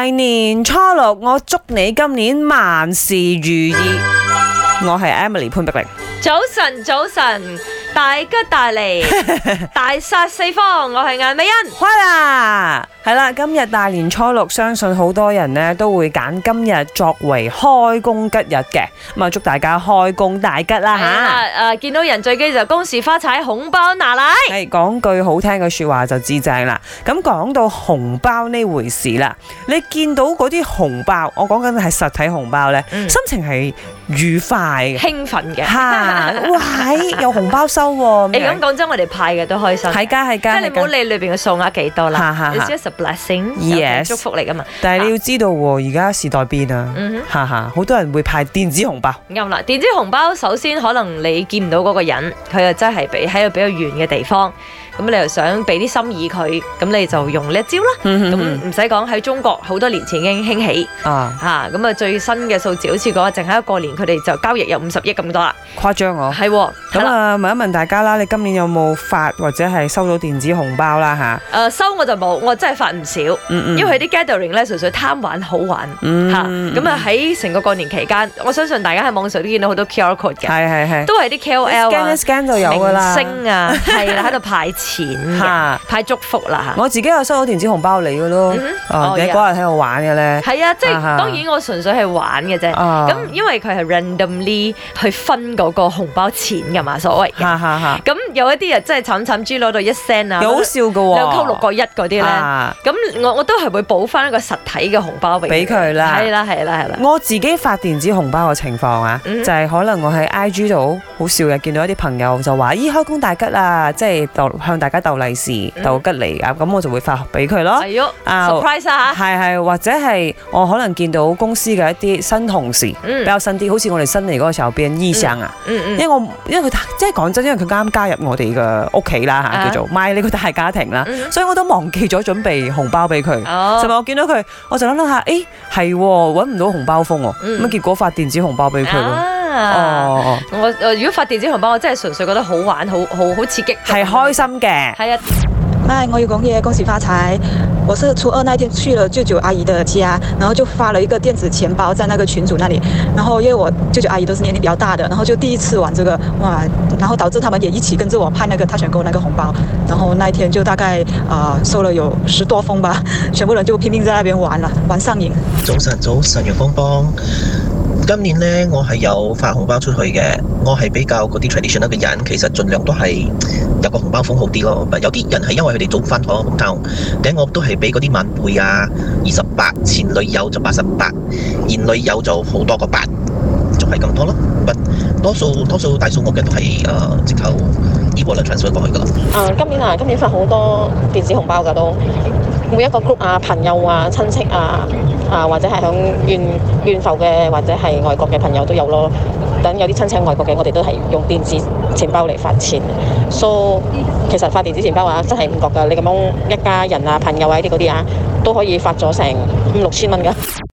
年初六，我祝你今年萬事如意。我係 Emily 潘碧玲。 早晨，早晨，大吉大利，大殺四方。我係顏美欣。 開啦，係啦，今日大年初六，相信好多人呢都會揀今日作為開工吉日嘅，咁啊祝大家開工大吉啦吓！ 見到人最機就恭喜發財，紅包拿嚟。 係講句好聽嘅說話就至正啦。咁講到紅包呢回事啦，你見到嗰啲紅包，我講緊係實體紅包呢，心情係愉快嘅， 興奮嘅。 哇！有紅包收喎。 你咁講真，我哋派嘅都開心。 係㗎，係㗎。 即係你唔好理裏邊嘅數額幾多啦。It's just a blessing， yes， 祝福嚟㗎嘛。 但係你要知道喎，而家時代變啊，好多人會派電子紅包。 啱啦，電子紅包首先可能你見唔到嗰個人，佢又真係喺個比較遠嘅地方。咁你又想俾啲心意佢，咁你就用呢一招啦。咁唔使講，喺中國好多年前已經興起咁啊最新嘅數字好似講，淨係一個年佢哋就交易有50億咁多啦。 誇張喎。係喎。咁啊問一問大家啦，你今年有冇發或者係收到電子紅包啦嚇？ 收我就冇，我真係發唔少。因為啲 gathering 咧純粹貪玩好玩咁啊喺成個過年期間，我相信大家喺網上都見到好多 QR code 嘅。係。都係啲 KOL 啊 scan 就有㗎啦。 明星啊，係啦喺度派錢嘅，派祝福啦。 我自己有收到電子紅包嚟嘅咯。你嗰日喺度玩嘅咧？ 係啊，即係當然我純粹係玩嘅啫。咁因為佢係 randomly 去分嗰個紅包錢㗎嘛，所謂嘅。咁有一啲人真係慘慘豬攞到1 cent 啊， 好笑㗎喎 ，2溝6個1嗰啲咧。咁我都係會補翻一個實體嘅紅包俾佢啦。係啦。我自己發電子紅包嘅情況啊，就係可能我喺 IG 度好笑嘅，見到一啲朋友就話：咦，開工大吉啊！即係向大家鬥利是、鬥吉利啊！咁我就會發俾佢咯。 係咯，surprise 啊！ 係，或者係我可能見到公司嘅一啲新同事，比較新啲，好似我哋新嚟嗰個時候變醫生啊。因為佢即係講真，因為佢啱啱加入我哋嘅屋企啦嚇，叫做買呢個大家庭啦，所以我都忘記咗準備紅包俾佢。尋日我見到佢，我就諗下，係揾唔到紅包封喎，咁結果發電子紅包俾佢咯。 我如果發電子紅包，我真係純粹覺得好玩，好刺激， 係開心嘅。 係啊。 我有講嘢，恭喜發財！我是初二那天去了舅舅阿姨的家，然後就發了一個電子錢包在那個群組那裡，然後因為我舅舅阿姨都是年齡比較大的，然後就第一次玩這個，哇！然後導致他們也一起跟着我派那個Touch 'n Go那個紅包，然後那一天就大概收了有10多封吧，全部人就拼命在那邊玩了，玩上癮。 早晨，陽光幫。今年呢，我係有發紅包出去嘅。我係比較嗰啲 traditional 嘅人，其實盡量都係有個紅包封好啲咯。有啲人係因為佢哋早翻咗 hometown，我都係俾嗰啲晚輩啊28，前女友就88，現女友就好多個8，就係咁多咯。多數大數目嘅都係直頭 e-wallet transfer 過去噶啦。 今年發好多電子紅包噶都，每一個 group 啊、朋友啊、親戚啊，或者係響遠埠嘅或者係外國嘅朋友都有咯。等有啲親戚喺外國嘅，我哋都係用電子錢包嚟發錢。其實發電子錢包啊，真係唔覺噶。你咁樣一家人啊、朋友啊啲嗰啲啊，都可以發咗成5、6千蚊噶。